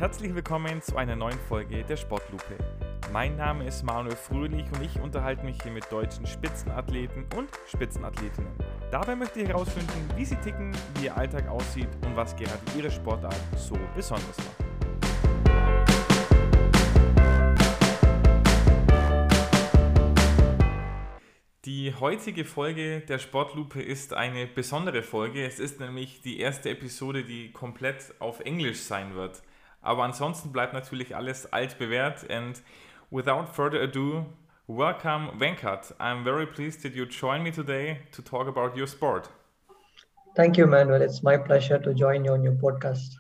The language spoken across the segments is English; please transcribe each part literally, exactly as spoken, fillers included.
Herzlich willkommen zu einer neuen Folge der Sportlupe. Mein Name ist Manuel Fröhlich und ich unterhalte mich hier mit deutschen Spitzenathleten und Spitzenathletinnen. Dabei möchte ich herausfinden, wie sie ticken, wie ihr Alltag aussieht und was gerade ihre Sportart so besonders macht. Die heutige Folge der Sportlupe ist eine besondere Folge. Es ist nämlich die erste Episode, die komplett auf Englisch sein wird. Aber ansonsten bleibt natürlich alles altbewährt. And without further ado, welcome Venkat. I'm very pleased that you join me today to talk about your sport. Thank you, Manuel. It's my pleasure to join you on your podcast.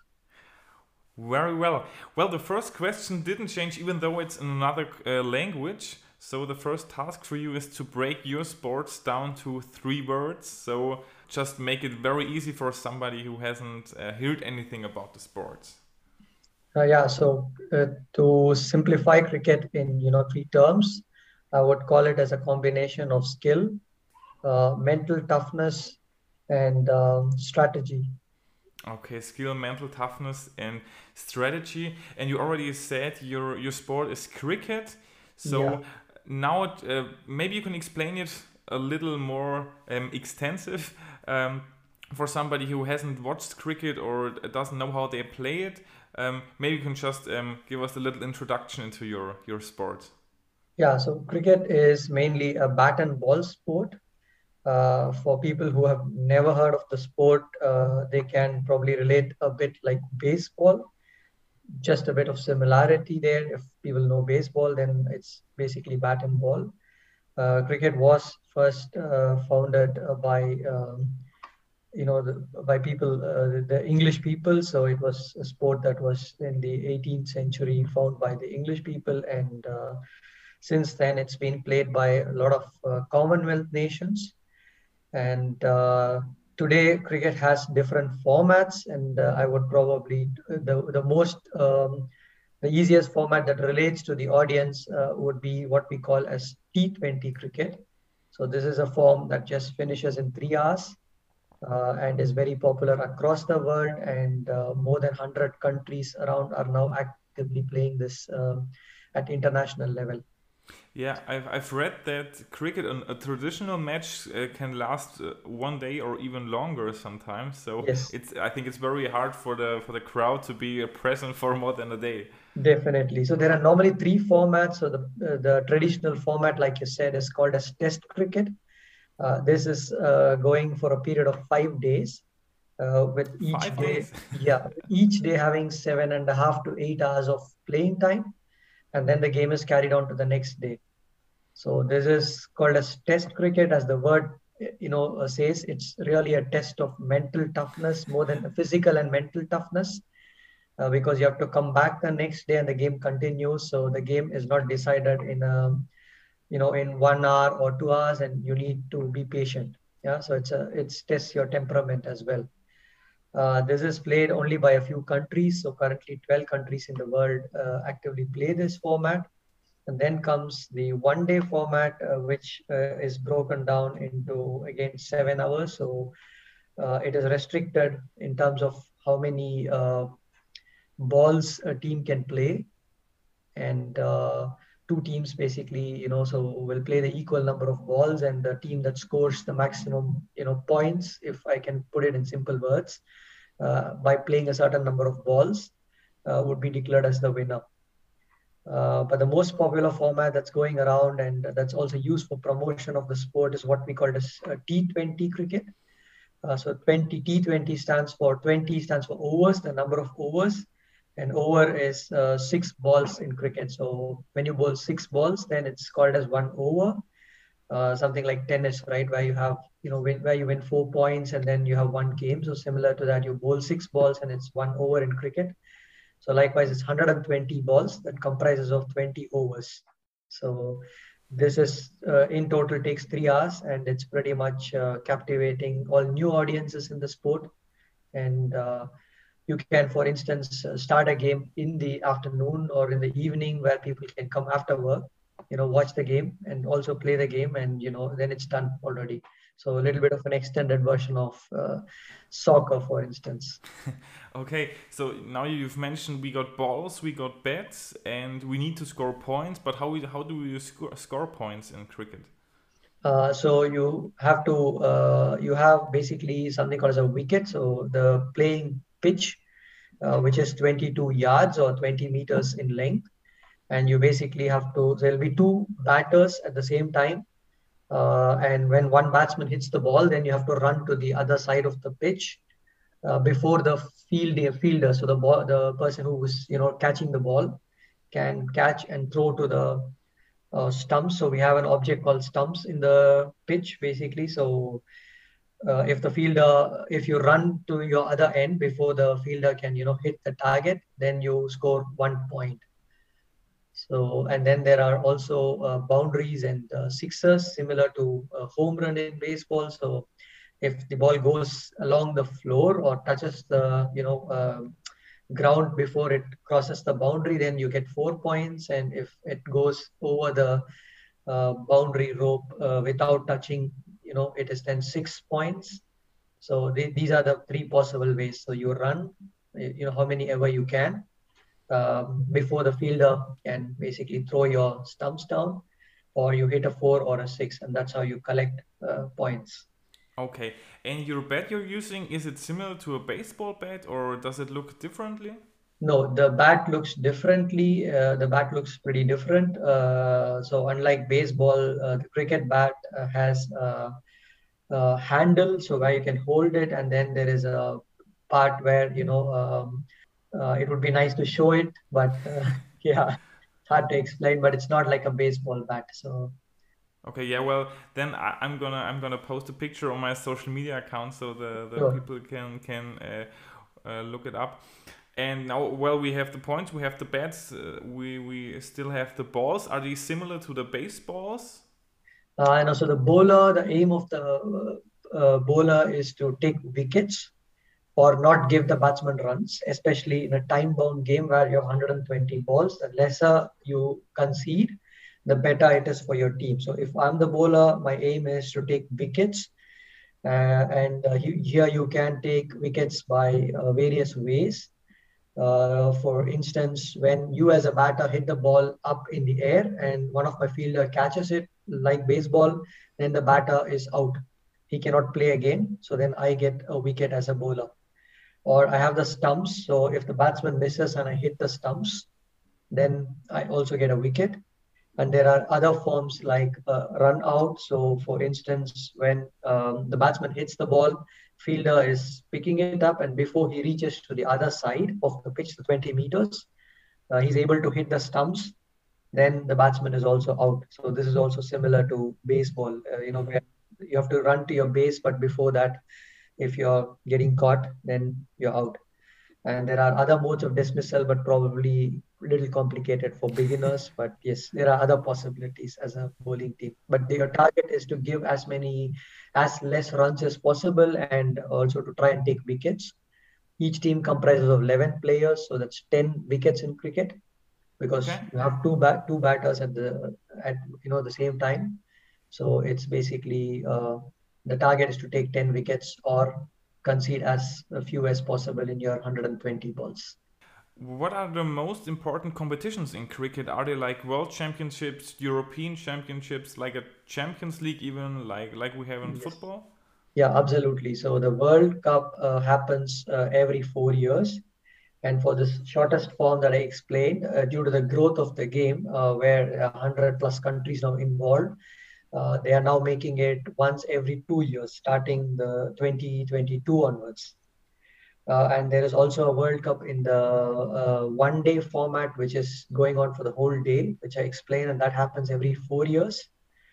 Very well. Well, the first question didn't change even though it's in another uh, language. So the first task for you is to break your sports down to three words. So just make it very easy for somebody who hasn't uh, heard anything about the sports. Uh, yeah, so uh, to simplify cricket in you know three terms, I would call it as a combination of skill, uh, mental toughness, and um, strategy. Okay, skill, mental toughness, and strategy. And you already said your your sport is cricket. So Yeah. now uh, maybe you can explain it a little more um, extensive um, for somebody who hasn't watched cricket or doesn't know how they play it. Um, maybe you can just um, give us a little introduction into your your sport. Yeah, so cricket is mainly a bat and ball sport. Uh, for people who have never heard of the sport, uh, they can probably relate a bit like baseball. Just a bit of similarity there. If people know baseball, then it's basically bat and ball. Uh, cricket was first uh, founded uh, by um, you know the, by people, uh, the English people. So it was a sport that was in the eighteenth century, found by the English people, and uh, since then it's been played by a lot of uh, Commonwealth nations. And uh, today cricket has different formats, and uh, I would probably the the most um, the easiest format that relates to the audience uh, would be what we call as T twenty cricket. So this is a form that just finishes in three hours uh, and is very popular across the world. And uh, more than one hundred countries around are now actively playing this um, at international level. Yeah, I've, I've read that cricket, an, a traditional match uh, can last uh, one day or even longer sometimes. So Yes, it's I think it's very hard for the for the crowd to be uh, present for more than a day. definitely. So there are normally three formats. So the uh, the traditional format, like you said, is called as Test cricket. Uh, this is uh, going for a period of five days, uh, with each Five day, days. yeah, each day having seven and a half to eight hours of playing time, and then the game is carried on to the next day. So this is called as Test cricket, as the word you know uh, says. It's really a test of mental toughness more than physical and mental toughness, uh, because you have to come back the next day and the game continues. So the game is not decided in a you know in one hour or two hours, and you need to be patient. Yeah, so it's a it's tests your temperament as well. Uh, this is played only by a few countries. So currently twelve countries in the world uh, actively play this format. And then comes the one day format, uh, which uh, is broken down into again seven hours. So uh, it is restricted in terms of how many uh, balls a team can play. And uh, two teams basically, you know, so will play the equal number of balls, and the team that scores the maximum, you know, points, if I can put it in simple words, uh, by playing a certain number of balls, uh, would be declared as the winner. Uh, but the most popular format that's going around and that's also used for promotion of the sport is what we call as uh, T twenty cricket. Uh, so twenty T twenty stands for twenty stands for overs, the number of overs, and over is uh, six balls in cricket. So when you bowl six balls, then it's called as one over. Uh, something like tennis, right, where you have you know win, where you win four points and then you have one game. So similar to that, you bowl six balls and it's one over in cricket. So likewise, it's one hundred twenty balls that comprises of twenty overs. So this is uh, in total takes three hours, and it's pretty much uh, captivating all new audiences in the sport. And uh, you can, for instance, uh, start a game in the afternoon or in the evening where people can come after work, you know, watch the game and also play the game, and you know then it's done already. So a little bit of an extended version of uh, soccer, for instance. Okay, so now you've mentioned we got balls, we got bats, and we need to score points. But how we, how do you score score points in cricket? Uh, so you have to uh, you have basically something called as a wicket. So the playing pitch, uh, which is twenty-two yards or twenty meters in length, and you basically have to. There'll be two batters at the same time, uh, and when one batsman hits the ball, then you have to run to the other side of the pitch uh, before the field fielder. So the ball, the person who was you know catching the ball, can catch and throw to the uh, stumps. So we have an object called stumps in the pitch, basically. So uh, if the fielder, if you run to your other end before the fielder can, you know, hit the target, then you score one point. So, and then there are also uh, boundaries and uh, sixers, similar to a home run in baseball. So if the ball goes along the floor or touches the, you know, uh, ground before it crosses the boundary, then you get four points. And if it goes over the uh, boundary rope uh, without touching, you know, it is then six points. So they, these are the three possible ways. So you run, you know, how many ever you can um, before the fielder can basically throw your stumps down, or you hit a four or a six, and that's how you collect uh, points. Okay, and your bat you're using, is it similar to a baseball bat or does it look differently? No, the bat looks differently. Uh, the bat looks pretty different. Uh, so unlike baseball, uh, the cricket bat uh, has a, a handle, so where you can hold it, and then there is a part where you know um, uh, it would be nice to show it, but uh, yeah, it's hard to explain. But it's not like a baseball bat. So Okay, yeah, well then I, I'm gonna I'm gonna post a picture on my social media account so the, the sure. people can can uh, uh, look it up. And now, well, we have the points, we have the bats, uh, we we still have the balls. Are these similar to the baseballs? Uh, and also the bowler, the aim of the uh, uh, bowler is to take wickets or not give the batsman runs, especially in a time-bound game where you have one hundred twenty balls. The lesser you concede, the better it is for your team. So if I'm the bowler, my aim is to take wickets. Uh, and uh, you, here you can take wickets by uh, various ways. Uh, for instance, when you as a batter hit the ball up in the air and one of my fielder catches it like baseball, then the batter is out. He cannot play again. So then I get a wicket as a bowler. Or I have the stumps. So if the batsman misses and I hit the stumps, then I also get a wicket. And there are other forms like uh, run out. So for instance, when um, the batsman hits the ball, fielder is picking it up, and before he reaches to the other side of the pitch, the twenty meters, uh, he's able to hit the stumps, then the batsman is also out. So this is also similar to baseball, uh, you know, where you have to run to your base, but before that, if you're getting caught, then you're out. And there are other modes of dismissal, but probably a little complicated for beginners. But yes, there are other possibilities as a bowling team. But your target is to give as many, as less runs as possible, and also to try and take wickets. Each team comprises of eleven players, so that's ten wickets in cricket, because Okay. you have two bat two batters at the at you know the same time. So it's basically uh, the target is to take ten wickets or concede as few as possible in your one hundred twenty balls. What are the most important competitions in cricket? Are they like world championships, European championships, like a Champions League, even like like we have in Yes. football? Yeah, absolutely. So the World Cup uh, happens uh, every four years. And for this shortest form that I explained, uh, due to the growth of the game, uh, where one hundred plus countries now involved, uh, they are now making it once every two years, starting the twenty twenty-two onwards. Uh, and there is also a World Cup in the uh, one day format, which is going on for the whole day, which I explained, and that happens every four years.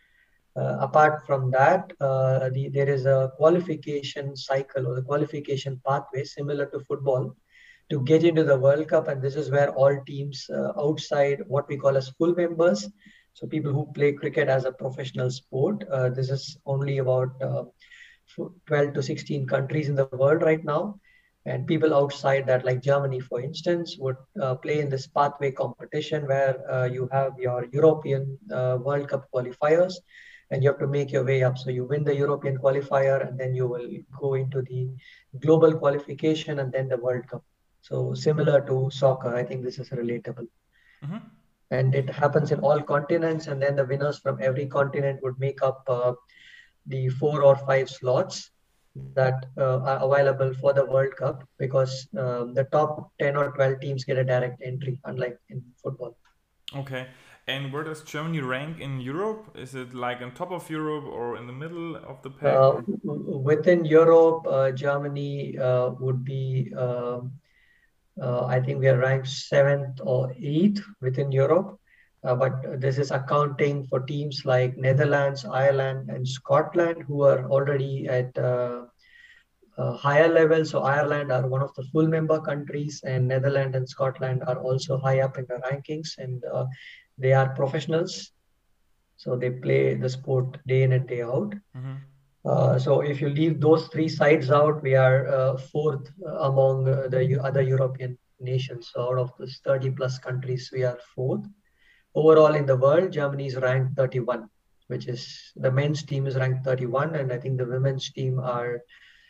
Uh, apart from that, uh, the, there is a qualification cycle or the qualification pathway similar to football to get into the World Cup. And this is where all teams uh, outside what we call as full members, so people who play cricket as a professional sport, uh, this is only about uh, twelve to sixteen countries in the world right now. And people outside that, like Germany, for instance, would uh, play in this pathway competition where uh, you have your European uh, World Cup qualifiers. and you have to make your way up. So you win the European qualifier, and then you will go into the global qualification and then the World Cup. So similar to soccer, I think this is relatable. Mm-hmm. And it happens in all continents, and then the winners from every continent would make up uh, the four or five slots that uh, are available for the World Cup, because um, the top ten or twelve teams get a direct entry, unlike in football. Okay. And where does Germany rank in Europe? Is it like on top of Europe or in the middle of the pack? Uh, within Europe, uh, Germany uh, would be, um, uh, I think we are ranked seventh or eighth within Europe. Uh, but this is accounting for teams like Netherlands, Ireland, and Scotland, who are already at uh, uh, higher level. So Ireland are one of the full member countries, and Netherlands and Scotland are also high up in the rankings, and uh, they are professionals. So they play the sport day in and day out. Mm-hmm. Uh, so if you leave those three sides out, we are uh, fourth among uh, the other European nations. So out of those thirty plus countries, we are fourth. Overall in the world, Germany is ranked thirty-one, which is the men's team is ranked thirty-one, and I think the women's team are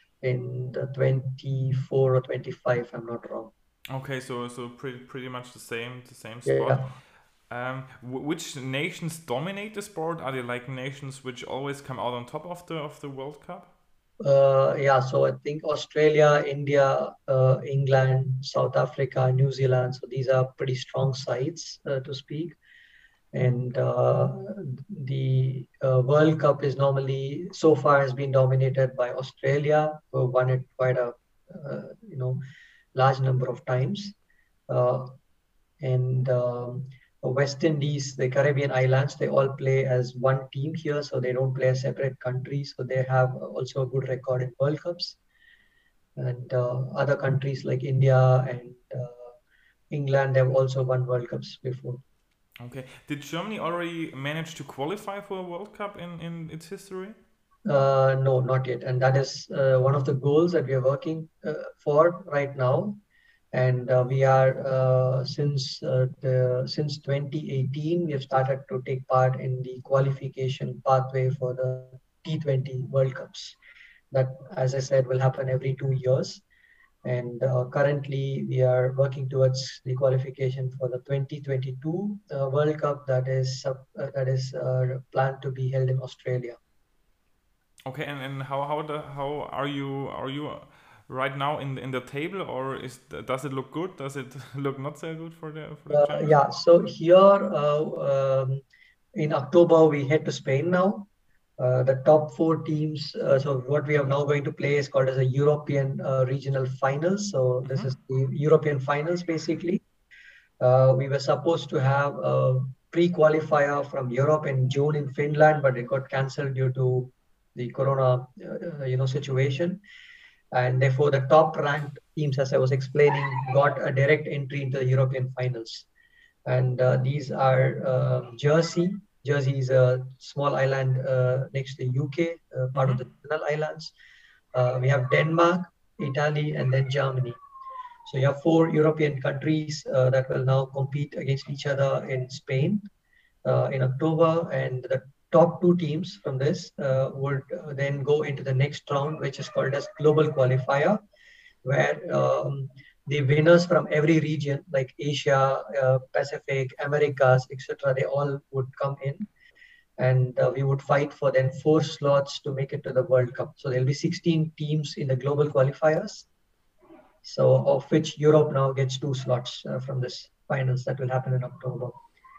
in the twenty-four or twenty-five, if I'm not wrong. Okay, so so pretty pretty much the same the same spot. Yeah. Um, w- which nations dominate the sport? Are they like nations which always come out on top of the of the World Cup? Uh, yeah, so I think Australia, India, uh, England, South Africa, New Zealand. So these are pretty strong sides, uh, to speak. And uh, the uh, World Cup is normally, so far, has been dominated by Australia, who won it quite a uh, you know large number of times. Uh, and um, West Indies, the Caribbean islands, they all play as one team here, so they don't play as separate countries. So they have also a good record in World Cups. And uh, other countries like India and uh, England have also won World Cups before. Okay. Did Germany already manage to qualify for a World Cup in, in its history? Uh, no, not yet. And that is uh, one of the goals that we are working uh, for right now. And uh, we are uh, since uh, the since twenty eighteen, we have started to take part in the qualification pathway for the T twenty World Cups. That, as I said, will happen every two years. And uh, currently, we are working towards the qualification for the twenty twenty-two uh, World Cup that is uh, that is uh, planned to be held in Australia. Okay, and, and how how the how are you are you right now in the, in the table, or is does it look good? Does it look not so good for the for the Uh, yeah, so here uh, um, in October we head to Spain now. Uh, the top four teams. Uh, so what we are now going to play is called as a European uh, regional finals. So this Mhm. is the European finals basically. Uh, we were supposed to have a pre-qualifier from Europe in June in Finland, but it got cancelled due to the corona, uh, you know, situation. And therefore, the top-ranked teams, as I was explaining, got a direct entry into the European finals. And uh, these are uh, Jersey. Jersey is a small island uh, next to the U K, uh, part of the Channel Islands. Uh, we have Denmark, Italy, and then Germany. So you have four European countries uh, that will now compete against each other in Spain uh, in October, and the top two teams from this uh, would uh, then go into the next round, which is called as global qualifier, where um, the winners from every region, like Asia, uh, Pacific, Americas, et cetera, they all would come in, and uh, we would fight for then four slots to make it to the World Cup. So there'll be sixteen teams in the global qualifiers. So of which Europe now gets two slots uh, from this finals that will happen in October.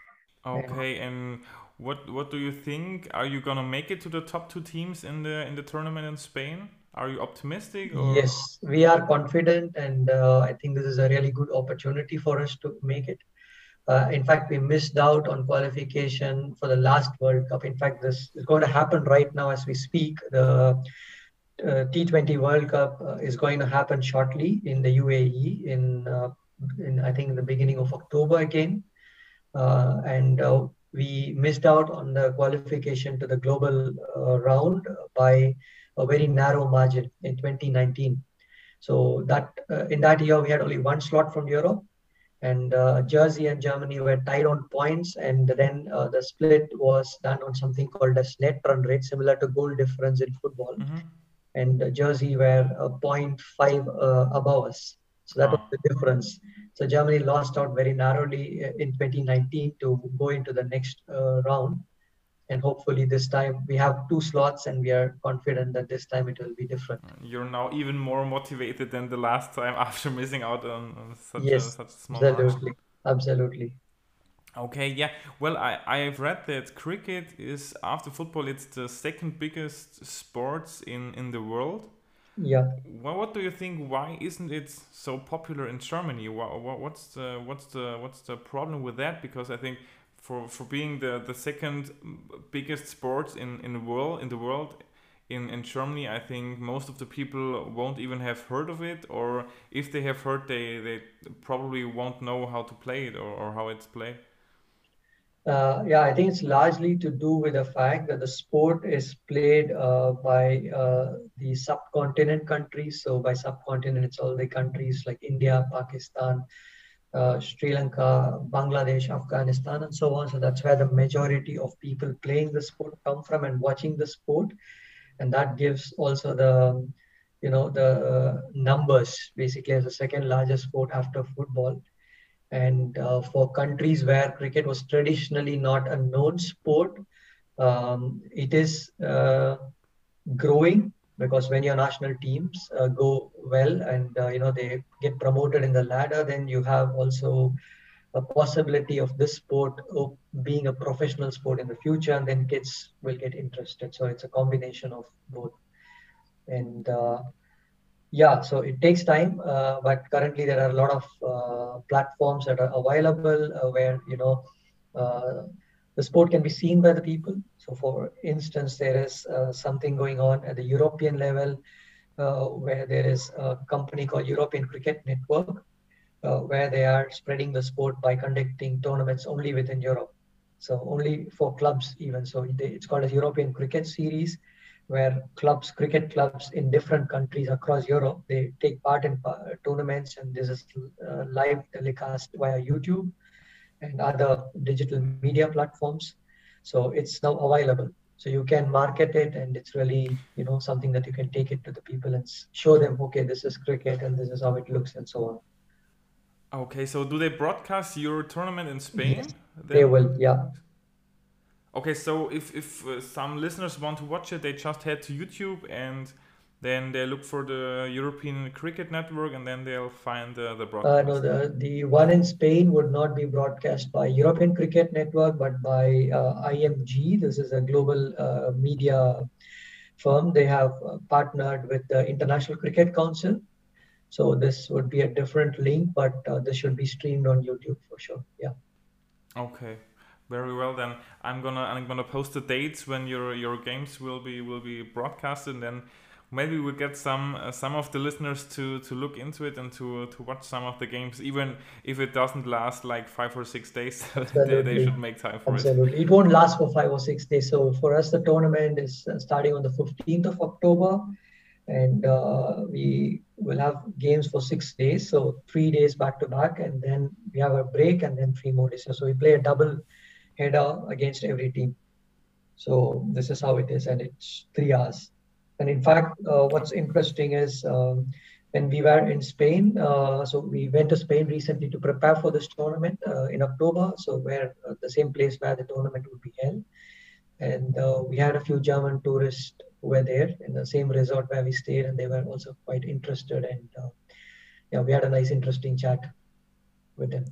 Okay, and what what do you think? Are you gonna make it to the top two teams in the in the tournament in Spain? Are you optimistic? Or? Yes, we are confident, and uh, I think this is a really good opportunity for us to make it. Uh, in fact, we missed out on qualification for the last World Cup. In fact, this is going to happen right now as we speak. The uh, T twenty World Cup uh, is going to happen shortly in the U A E in, uh, in I think, in the beginning of October again. Uh, and uh, we missed out on the qualification to the global uh, round by a very narrow margin in twenty nineteen. So that uh, in that year we had only one slot from Europe, and uh, Jersey and Germany were tied on points, and then uh, the split was done on something called as net run rate, similar to goal difference in football. Mm-hmm. And uh, Jersey were uh, zero point five uh, above us. So that was Oh. the difference. So Germany lost out very narrowly in twenty nineteen to go into the next uh, round. And hopefully this time we have two slots, and we are confident that this time it will be different. You're now even more motivated than the last time after missing out on, on such a Yes, such a small absolutely, margin. absolutely. Okay, yeah. Well, I I've read that cricket is after football, it's the second biggest sports in in the world. Yeah. Well, what do you think? Why isn't it so popular in Germany? What, what's the what's the what's the problem with that? Because I think for for being the the second biggest sport in in the world in the world in in Germany, I think most of the people won't even have heard of it, or if they have heard, they they probably won't know how to play it or, or how it's played. Uh, yeah, I think it's largely to do with the fact that the sport is played uh, by uh, the subcontinent countries. So by subcontinent, it's all the countries like India, Pakistan, uh, Sri Lanka, Bangladesh, Afghanistan, and so on. So that's where the majority of people playing the sport come from and watching the sport, and that gives also the, you know, the uh, numbers basically as the second largest sport after football. And uh, for countries where cricket was traditionally not a known sport, um, it is uh, growing, because when your national teams uh, go well and uh, you know they get promoted in the ladder, then you have also a possibility of this sport of being a professional sport in the future, and then kids will get interested. So it's a combination of both. And uh, yeah, so it takes time, uh, but currently there are a lot of uh, platforms that are available uh, where you know uh, the sport can be seen by the people. So, for instance, there is uh, something going on at the European level uh, where there is a company called European Cricket Network, uh, where they are spreading the sport by conducting tournaments only within Europe. So only for clubs even. So they, it's called a European Cricket Series, where clubs, cricket clubs in different countries across Europe, they take part in uh, tournaments, and this is uh, live telecast via YouTube and other digital media platforms. So it's now available. So you can market it, and it's really, you know, something that you can take it to the people and show them, okay, this is cricket and this is how it looks and so on. Okay, so do they broadcast your tournament in Spain? Yes, Then? they will, yeah. Okay, so if if uh, some listeners want to watch it, they just head to YouTube and then they look for the European Cricket Network, and then they'll find the the broadcast. Uh, no, the the one in Spain would not be broadcast by European Cricket Network, but by uh, I M G. This is a global uh, media firm. They have uh, partnered with the International Cricket Council. So this would be a different link, but uh, this should be streamed on YouTube for sure. Yeah. Okay, very well then. I'm gonna I'm gonna post the dates when your your games will be will be broadcasted, and then maybe we'll get some uh, some of the listeners to to look into it and to to watch some of the games, even if it doesn't last like five or six days. they, they should make time for Absolutely. it. Absolutely, it won't last for five or six days. So for us, the tournament is starting on the fifteenth of October. And uh, we will have games for six days, so three days back to back, and then we have a break, and then three more days. So we play a double header against every team. So this is how it is, and it's three hours. And in fact, uh, what's interesting is um, when we were in Spain, uh, so we went to Spain recently to prepare for this tournament uh, in October, so where uh, the same place where the tournament would be held. And uh, we had a few German tourists who were there in the same resort where we stayed, and they were also quite interested. And uh, yeah, we had a nice, interesting chat with them.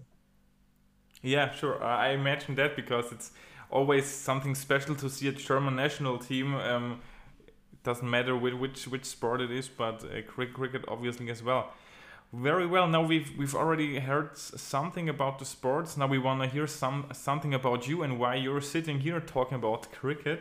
Yeah, sure. Uh, I imagine that, because it's always something special to see a German national team. Um, it doesn't matter which, which which sport it is, but uh, cricket obviously as well. Very well. Now we've we've already heard something about the sports. Now we want to hear some something about you and why you're sitting here talking about cricket.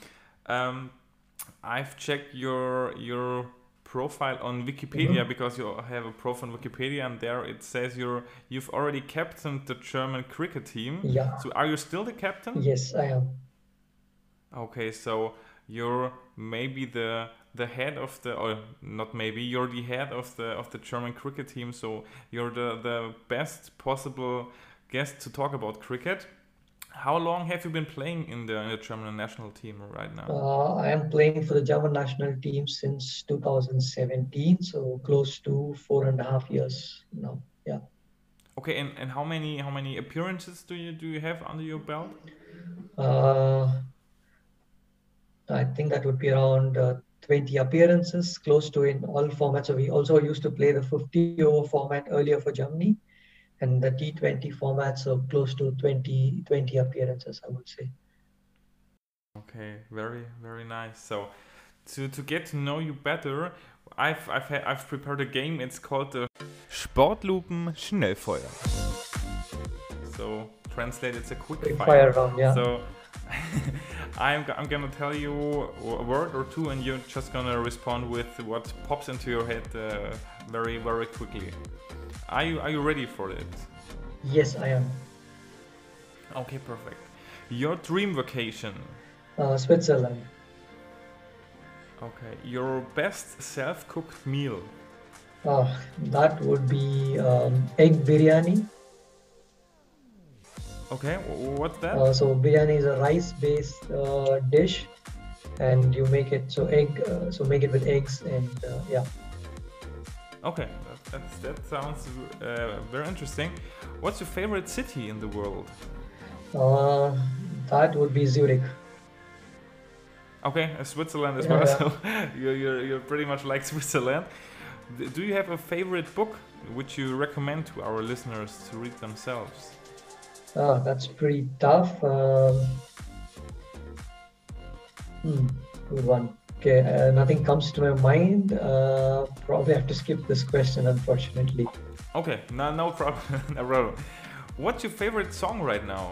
Um, I've checked your your profile on Wikipedia, mm-hmm. because you have a profile on Wikipedia, and there it says you're you've already captained the German cricket team. Yeah. So are you still the captain? Yes, I am. Okay, so you're maybe the the head of the, or not maybe, you're the head of the of the German cricket team, so you're the, the best possible guest to talk about cricket. How long have you been playing in the, in the German national team right now? Uh, I am playing for the German national team since two thousand seventeen, so close to four and a half years now. Yeah. Okay, and, and how many how many appearances do you do you have under your belt? Uh, I think that would be around uh, twenty appearances, close to in all formats. So we also used to play the fifty over format earlier for Germany, and the T twenty format, so close to twenty, twenty appearances, I would say. Okay, very very nice. So to to get to know you better, I've I've ha- I've prepared a game. It's called the Sportlupen Schnellfeuer. So translate, it's a quick, Quick fire. fire round, yeah. So I'm g- I'm gonna tell you a word or two, and you're just gonna respond with what pops into your head uh, very very quickly. Are you are you ready for it? Yes, I am. Okay, perfect. Your dream vacation. Uh, Switzerland. Okay, your best self-cooked meal. Uh, that would be um, egg biryani. Okay, wh- what's that? Uh, so biryani is a rice-based uh, dish, and you make it so egg. Uh, so make it with eggs and uh, yeah. Okay, that, that's, that sounds uh, very interesting. What's your favorite city in the world? Uh, that would be Zurich. Okay, uh, Switzerland as Yeah, well. yeah. So you're, you're you're pretty much like Switzerland. D- Do you have a favorite book which you recommend to our listeners to read themselves? Ah, that's pretty tough. Um, hmm, good one. Okay, uh, nothing comes to my mind. Uh, probably have to skip this question, unfortunately. Okay, no no problem, no problem. What's your favorite song right now?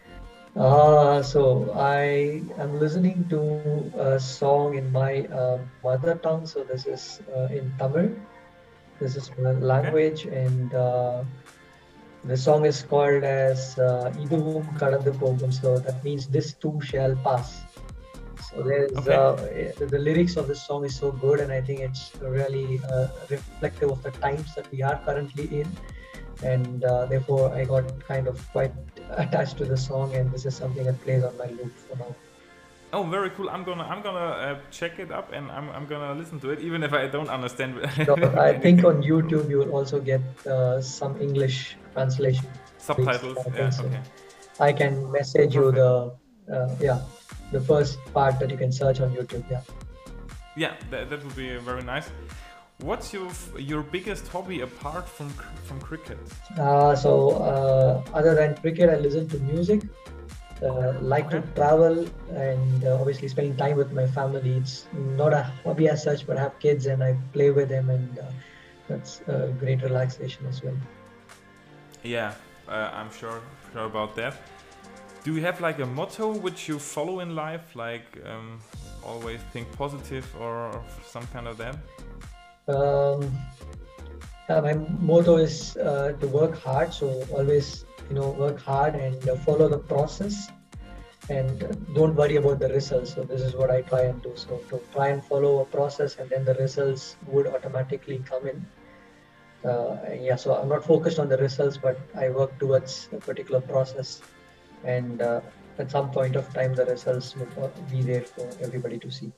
Uh, so I am listening to a song in my uh, mother tongue. So this is uh, in Tamil. This is my language, and uh, the song is called as uh, Iduvum Kadandu Pogum. So that means this too shall pass. So there's Okay. uh, the, the lyrics of this song is so good, and I think it's really uh, reflective of the times that we are currently in, and uh, therefore I got kind of quite attached to the song, and this is something that plays on my loop for now. Oh, very cool. I'm gonna I'm gonna uh, check it up, and I'm I'm gonna listen to it, even if I don't understand. So I think anything. on YouTube you will also get uh, some English translation. Subtitles. I Yeah. think so. Okay. I can message you Perfect. the uh, yeah the first part that you can search on YouTube. Yeah. Yeah, that, that would be very nice. What's your f- your biggest hobby apart from cr- from cricket? Uh, so uh, other than cricket, I listen to music. Uh, like to Okay. travel, and uh, obviously spending time with my family. It's not a hobby as such, but I have kids and I play with them, and uh, that's a great relaxation as well. Yeah, uh, I'm sure sure about that. Do you have like a motto which you follow in life, like um, always think positive or some kind of that? Um, yeah, my motto is uh, to work hard. So always, you know, work hard and uh, follow the process, and uh, don't worry about the results. So this is what I try and do. So to try and follow a process, and then the results would automatically come in. Uh, and yeah, so I'm not focused on the results, but I work towards a particular process, and uh, at some point of time, the results would uh, be there for everybody to see.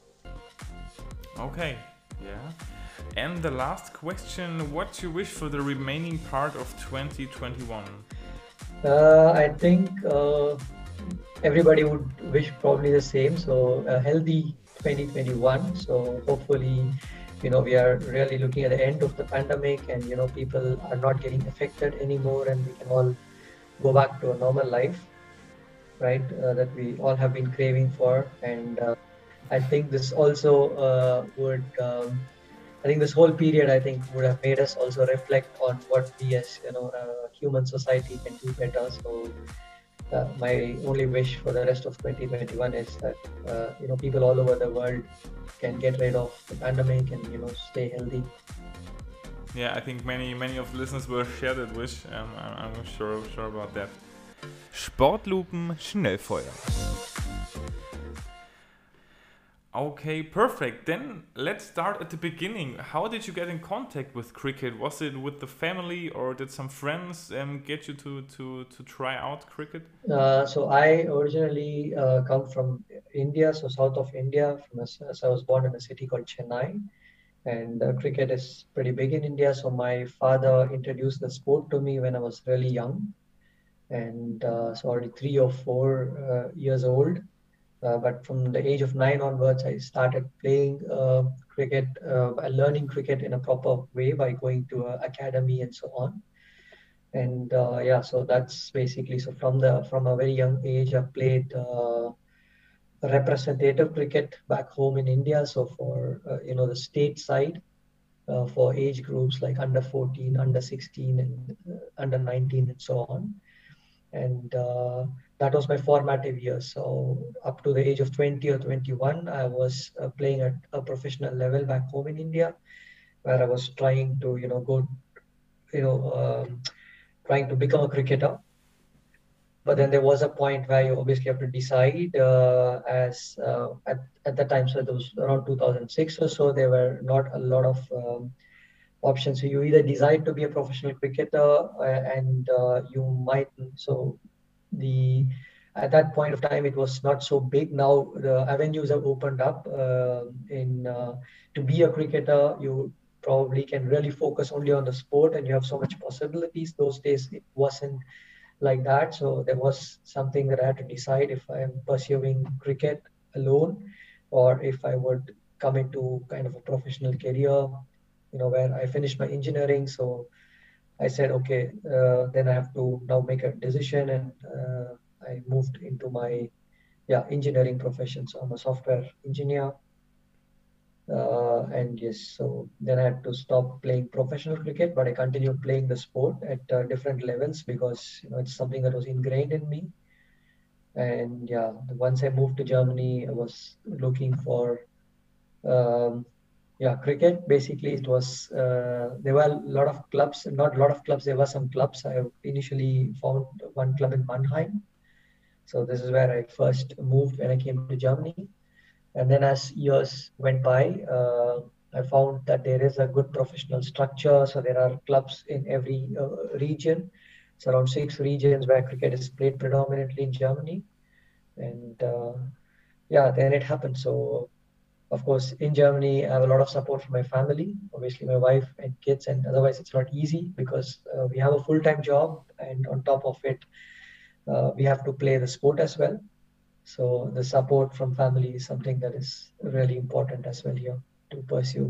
Okay, yeah. And the last question, what you wish for the remaining part of twenty twenty-one? Uh, I think uh, everybody would wish probably the same. So a healthy twenty twenty-one. So hopefully, you know, we are really looking at the end of the pandemic, and you know, people are not getting affected anymore, and we can all go back to a normal life, right? Uh, that we all have been craving for, and uh, I think this also uh, would. Um, I think this whole period, I think, would have made us also reflect on what we as, you know, uh, human society can do better. So uh, my only wish for the rest of twenty twenty-one is that, uh, you know, people all over the world can get rid of the pandemic and, you know, stay healthy. Yeah, I think many many of the listeners will share that wish. Um, I'm, I'm sure sure about that. Sportlupen Schnellfeuer. Okay, perfect. Then let's start at the beginning. How did you get in contact with cricket? Was it with the family, or did some friends um, get you to, to, to try out cricket? Uh, so I originally uh, come from India, so south of India. From a, so I was born in a city called Chennai, and uh, cricket is pretty big in India. So my father introduced the sport to me when I was really young, and uh, so already three or four uh, years old. Uh, but from the age of nine onwards, I started playing uh, cricket, uh, by learning cricket in a proper way by going to an academy and so on. And uh, yeah, so that's basically so from the from a very young age, I've played uh, representative cricket back home in India. So for uh, you know the state side, uh, for age groups like under fourteen, under sixteen, and uh, under nineteen, and so on. And uh, that was my formative years. So up to the age of twenty or twenty-one, I was uh, playing at a professional level back home in India, where I was trying to you know go you know um, trying to become a cricketer. But then there was a point where you obviously have to decide, uh, as uh, at, at that time, so it was around two thousand six or so, there were not a lot of um, options. So you either decide to be a professional cricketer, uh, and uh, you might, so the at that point of time, it was not so big. Now the avenues have opened up uh, in uh, to be a cricketer. You probably can really focus only on the sport, and you have so much possibilities. Those days it wasn't like that. So there was something that I had to decide if I am pursuing cricket alone, or if I would come into kind of a professional career, you know, where I finished my engineering. So I said, okay, uh, then I have to now make a decision, and uh, I moved into my yeah engineering profession. So I'm a software engineer. Uh, and yes, so then I had to stop playing professional cricket, but I continued playing the sport at uh, different levels because you know it's something that was ingrained in me. And yeah, once I moved to Germany, I was looking for um, yeah cricket. Basically, it was uh, there were a lot of clubs, not a lot of clubs. There were some clubs. I initially found one club in Mannheim. So this is where I first moved when I came to Germany. And then as years went by, uh, I found that there is a good professional structure. So there are clubs in every uh, region. It's around six regions where cricket is played predominantly in Germany. And uh, yeah, then it happened. So of course, in Germany, I have a lot of support from my family, obviously my wife and kids, and otherwise it's not easy because uh, we have a full-time job, and on top of it, uh, we have to play the sport as well. So the support from family is something that is really important as well here to pursue.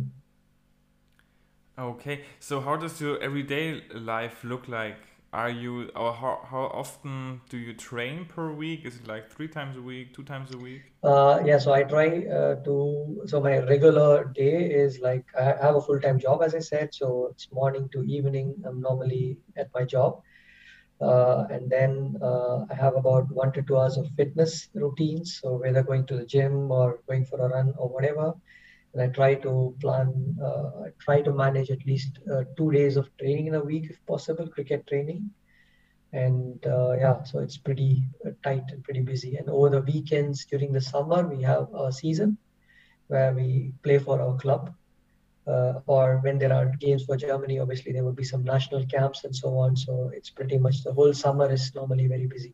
Okay, so how does your everyday life look like? Are you, or how, how often do you train per week? Is it like three times a week, two times a week? Uh, yeah, so I try uh, to, so my regular day is like I have a full-time job, as I said. So it's morning to evening. I'm normally at my job. Uh, and then uh, I have about one to two hours of fitness routines. So whether going to the gym or going for a run or whatever. And I try to plan, uh, I try to manage at least uh, two days of training in a week if possible, cricket training. And uh, yeah, so it's pretty uh, tight and pretty busy. And over the weekends during the summer, we have a season where we play for our club. Uh, or when there are games for Germany, obviously there will be some national camps and so on. So it's pretty much the whole summer is normally very busy.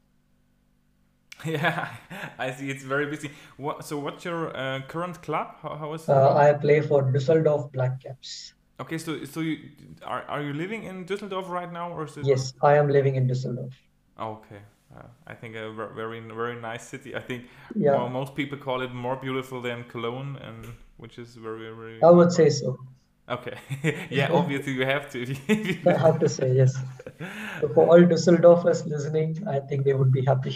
Yeah, I see. It's very busy. What, so what's your uh, current club? How, how is it Uh, called? I play for Düsseldorf Black Caps. Okay, so so you are are you living in Düsseldorf right now, or is it? Yes, I am living in Düsseldorf. Okay, uh, I think a ver- very very nice city. I think mo Yeah, most people call it more beautiful than Cologne, and which is very very I very would right. say so. Okay, yeah, obviously you have to. I have to say yes. So for all Düsseldorfers listening, I think they would be happy.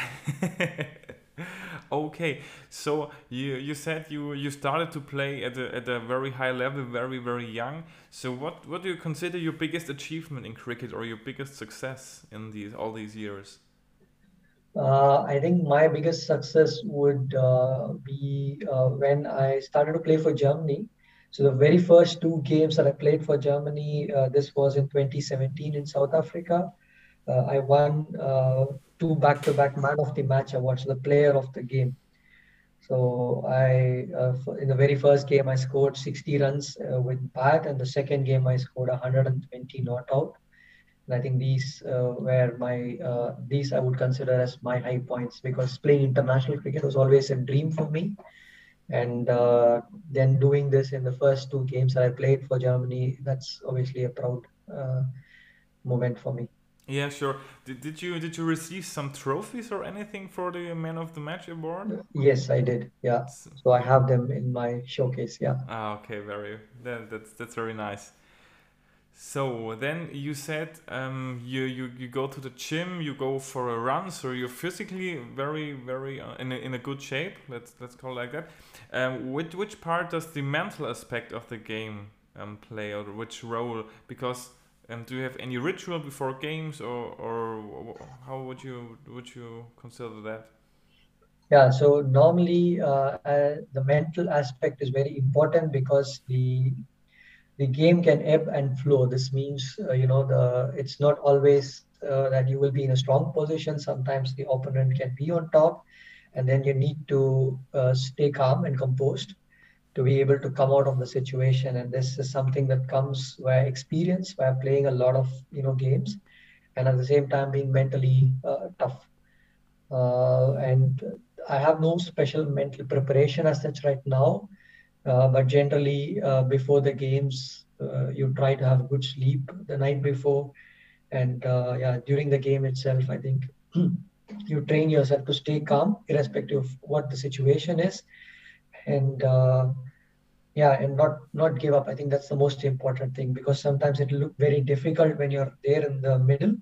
Okay, so you you said you you started to play at a at a very high level, very very young. So what what do you consider your biggest achievement in cricket, or your biggest success in these all these years? Uh, I think my biggest success would uh, be uh, when I started to play for Germany. So the very first two games that I played for Germany, uh, this was in twenty seventeen in South Africa. Uh, I won uh, two back-to-back Man of the Match awards, the player of the game. So I, uh, f- in the very first game, I scored sixty runs uh, with bat, and the second game I scored one hundred twenty not out. And I think these uh, were my uh, these I would consider as my high points, because playing international cricket was always a dream for me. And uh, then doing this in the first two games that I played for Germany, that's obviously a proud uh, moment for me. Yeah, sure. Did, did you did you receive some trophies or anything for the Man of the Match award? Yes, I did. Yeah. S- So I have them in my showcase. Yeah. Ah, okay, very that, that's that's very nice. So then you said um, you, you you go to the gym, you go for a run, so you're physically very very uh, in a, in a good shape. Let's let's call it like that. Um, which which part does the mental aspect of the game um, play, or which role? Because um, do you have any ritual before games, or or wh- how would you would you consider that? Yeah. So normally, uh, uh, the mental aspect is very important, because the the game can ebb and flow. This means, uh, you know, the it's not always uh, that you will be in a strong position. Sometimes the opponent can be on top, and then you need to uh, stay calm and composed to be able to come out of the situation. And this is something that comes via experience, by playing a lot of you know games, and at the same time being mentally uh, tough. Uh, and I have no special mental preparation as such right now, uh, but generally, uh, before the games, uh, you try to have good sleep the night before. And uh, yeah, during the game itself, I think you train yourself to stay calm, irrespective of what the situation is. And uh, yeah, and not not give up. I think that's the most important thing, because sometimes it look very difficult when you're there in the middle,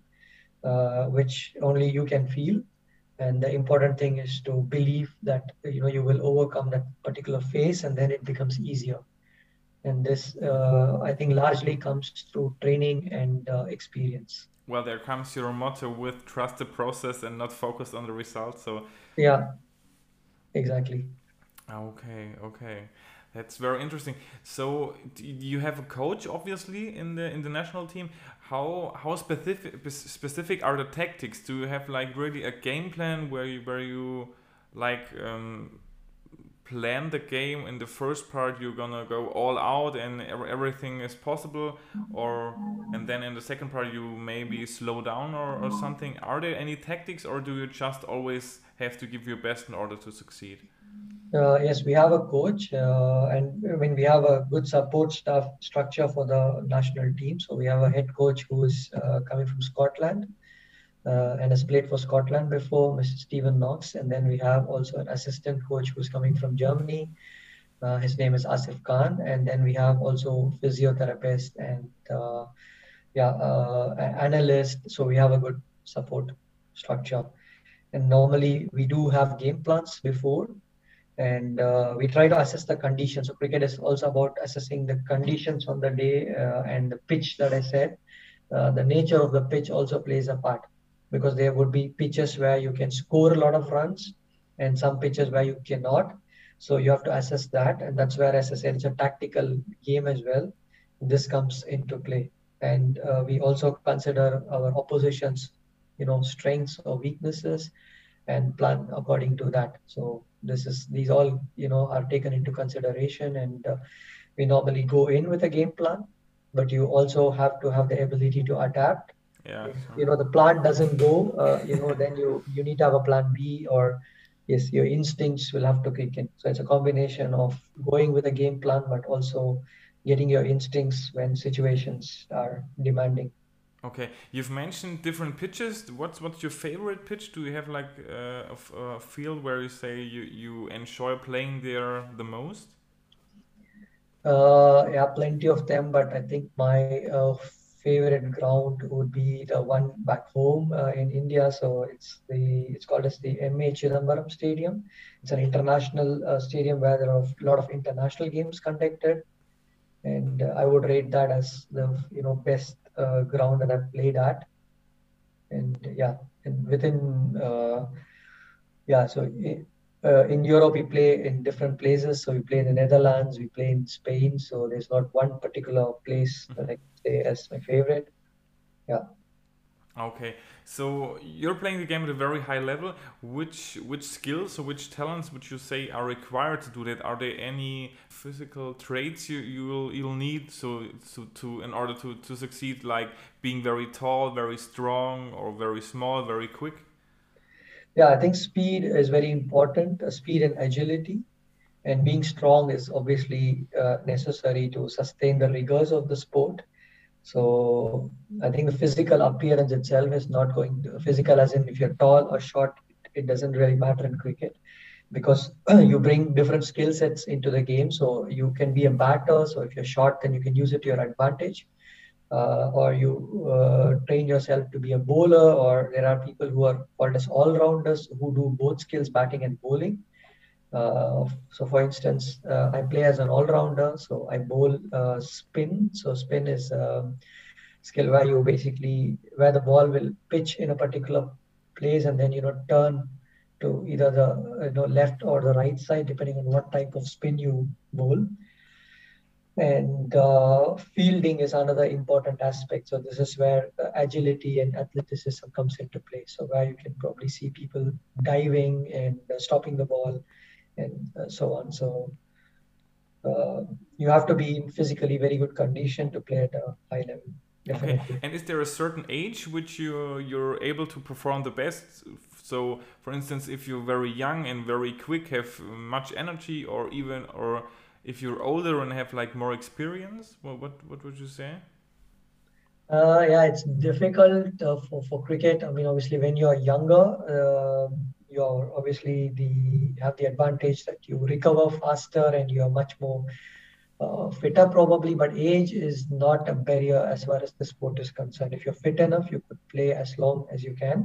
uh, which only you can feel. And the important thing is to believe that you know you will overcome that particular phase, and then it becomes easier. And this, uh, I think, largely comes through training and uh, experience. Well, there comes your motto with trust the process and not focus on the result. So Yeah, exactly. okay, okay. That's very interesting. So d- you have a coach, obviously, in the in the national team. How how specific specific are the tactics? Do you have like really a game plan where you where you like um, plan the game in the first part? You're gonna go all out and ev- everything is possible, or and then in the second part you maybe slow down or, or something. Are there any tactics, or do you just always have to give your best in order to succeed? Uh, yes, we have a coach, uh, and I mean we have a good support staff structure for the national team. So we have a head coach who is uh, coming from Scotland, uh, and has played for Scotland before, mister Stephen Knox. And then we have also an assistant coach who's coming from Germany. Uh, his name is Asif Khan. And then we have also physiotherapist and uh, yeah, uh, a- analyst. So we have a good support structure. And normally we do have game plans before, and uh, we try to assess the conditions. So cricket is also about assessing the conditions on the day, uh, and the pitch that I said. Uh, the nature of the pitch also plays a part, because there would be pitches where you can score a lot of runs, and some pitches where you cannot. So you have to assess that, and that's where, as I said, it's a tactical game as well. This comes into play, and uh, we also consider our opposition's, you know, strengths or weaknesses, and plan according to that. So this is these all you know are taken into consideration, and uh, we normally go in with a game plan, but you also have to have the ability to adapt. Yeah, If sure. you know the plan doesn't go, uh, you know, then you you need to have a plan B, or yes, your instincts will have to kick in. So it's a combination of going with a game plan, but also getting your instincts when situations are demanding. Okay, you've mentioned different pitches. What's what's your favorite pitch? Do you have like uh, a, f- a field where you say you, you enjoy playing there the most? Uh, yeah, plenty of them, but I think my uh, favorite ground would be the one back home uh, in India. So it's the it's called as the M A Chidambaram Stadium. It's an international uh, stadium where there are a lot of international games conducted, and uh, I would rate that as the you know best uh, ground that I've played at. And yeah, and within uh, yeah, so i- uh, in Europe, we play in different places. So we play in the Netherlands, we play in Spain. So there's not one particular place that I Mhm. say as my favorite. Yeah. Okay, So you're playing the game at a very high level. Which which skills or which talents would you say are required to do that? Are there any physical traits you you'll you'll need so so to in order to to succeed, like being very tall, very strong, or very small, very quick? Yeah, I think speed is very important, uh, speed and agility. And being strong is obviously uh, necessary to sustain the rigors of the sport. So I think the physical appearance itself is not going to, physical as in if you're tall or short, it doesn't really matter in cricket because you bring different skill sets into the game. So you can be a batter. So if you're short, then you can use it to your advantage. Uh, or you uh, train yourself to be a bowler, or there are people who are called as all-rounders who do both skills, batting and bowling. Uh, so for instance, uh, I play as an all-rounder. So I bowl uh, spin. So spin is a skill where you basically, where the ball will pitch in a particular place and then, you know, turn to either the, you know, left or the right side, depending on what type of spin you bowl. And uh, fielding is another important aspect. So this is where uh, agility and athleticism comes into play. So where you can probably see people diving and uh, stopping the ball and uh, so on. So uh, you have to be in physically very good condition to play at a high level. Okay, Definitely. and is there a certain age which you you're able to perform the best? So, for instance, if you're very young and very quick, have much energy, or even, or if you're older and have like more experience, what what, what would you say? Uh, yeah, it's difficult uh, for, for cricket. I mean, obviously, when you're younger, uh, you're obviously the have the advantage that you recover faster and you're much more uh, fitter probably. But age is not a barrier as far as the sport is concerned. If you're fit enough, you could play as long as you can.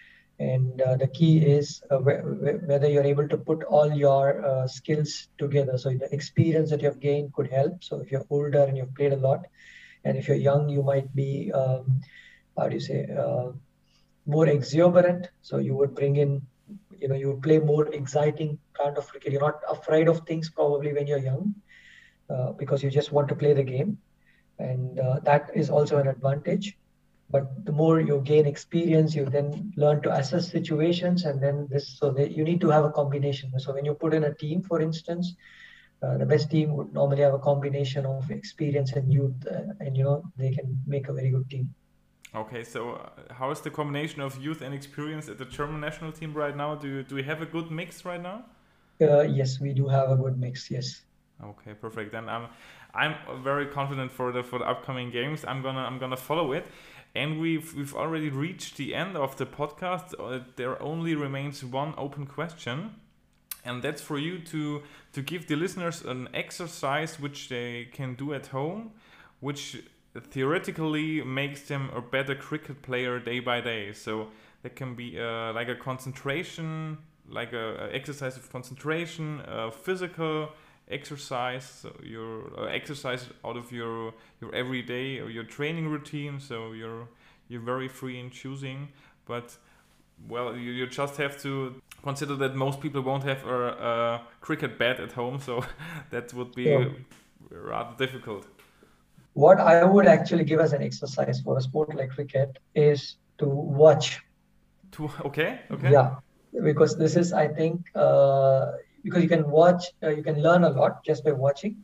And uh, the key is uh, wh- wh- whether you're able to put all your uh, skills together. So the experience that you have gained could help. So if you're older and you've played a lot, and if you're young, you might be, um, how do you say, uh, more exuberant. So you would bring in, you know, you would play more exciting kind of cricket. You're not afraid of things probably when you're young uh, because you just want to play the game. And uh, that is also an advantage. But the more you gain experience, you then learn to assess situations, and then this. So that you need to have a combination. So when you put in a team, for instance, uh, the best team would normally have a combination of experience and youth, uh, and you know they can make a very good team. Okay, so uh, how is the combination of youth and experience at the German national team right now? Do you, do we have a good mix right now? Uh, yes, we do have a good mix. Yes. Okay, perfect. Then I'm I'm very confident for the for the upcoming games. I'm gonna I'm gonna follow it, and we've we've already reached the end of the podcast. Uh, there only remains one open question, and that's for you to to give the listeners an exercise which they can do at home, which theoretically makes them a better cricket player day by day. So that can be uh, like a concentration, like a, a exercise of concentration, uh, physical exercise, so your uh, exercise out of your your everyday or your training routine. So you're you're very free in choosing, but well, you, you just have to consider that most people won't have a, a cricket bat at home, so that would be So rather difficult. what I would actually give as an exercise for a sport like cricket is to watch. To okay, okay. Yeah, because this is, I think, uh, because you can watch, uh, you can learn a lot just by watching.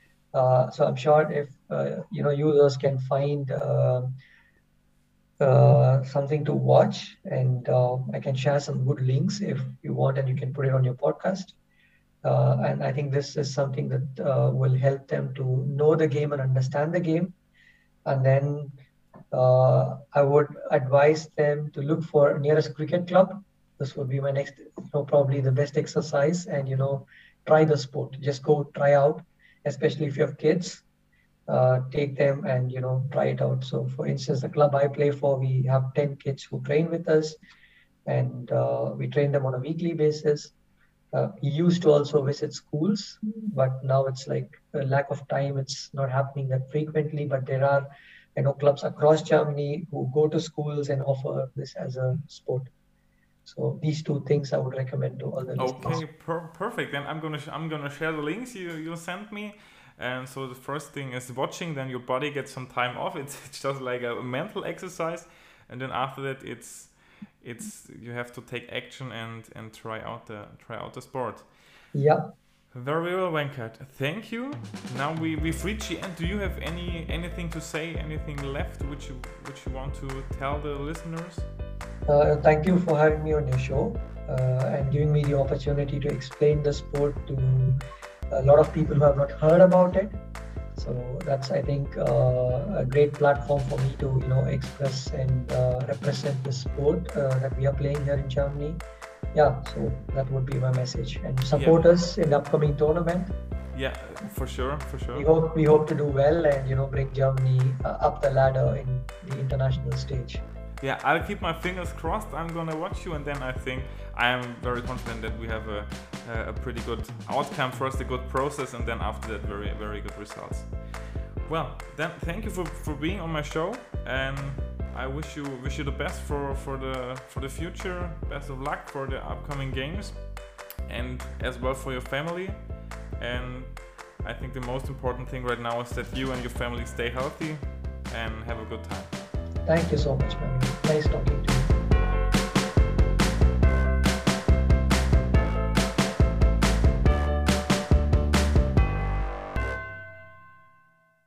Uh, so I'm sure if uh, you know users can find uh, uh, something to watch, and uh, I can share some good links if you want, and you can put it on your podcast. Uh, and I think this is something that uh, will help them to know the game and understand the game. And then uh, I would advise them to look for nearest cricket club. This would be my next, you know, probably the best exercise. And you know, try the sport. Just go try out, especially if you have kids. Uh, take them and you know try it out. So, for instance, the club I play for, we have ten kids who train with us, and uh, we train them on a weekly basis. Uh, we used to also visit schools, but now it's like a lack of time. It's not happening that frequently, but there are, you know, clubs across Germany who go to schools and offer this as a sport. So these two things I would recommend to all the listeners. Okay, per- perfect. Then I'm gonna sh- I'm gonna share the links you you sent me. And so the first thing is watching. Then your body gets some time off. It's, it's just like a mental exercise. and then after that it's it's you have to take action and and try out the try out the sport. Yeah. Very well, Venkat. Thank you. Now we we've reached the end. Do you have any anything to say? Anything left which you which you want to tell the listeners? Uh, thank you for having me on your show uh, and giving me the opportunity to explain the sport to a lot of people who have not heard about it. So that's, I think, uh, a great platform for me to, you know, express and uh, represent the sport uh, that we are playing here in Germany. Yeah, so that would be my message. And support yeah. us in the upcoming tournament. Yeah, for sure, for sure. We hope we hope to do well and, you know, bring Germany uh, up the ladder in the international stage. Yeah, I'll keep my fingers crossed. I'm gonna watch you, and then I think I am very confident that we have a, a pretty good outcome. First, a good process, and then after that, very very good results. Well, then thank you for, for being on my show, and I wish you wish you the best for, for the for the future. Best of luck for the upcoming games, and as well for your family. And I think the most important thing right now is that you and your family stay healthy and have a good time. Thank you so much, man. Nice talking to you.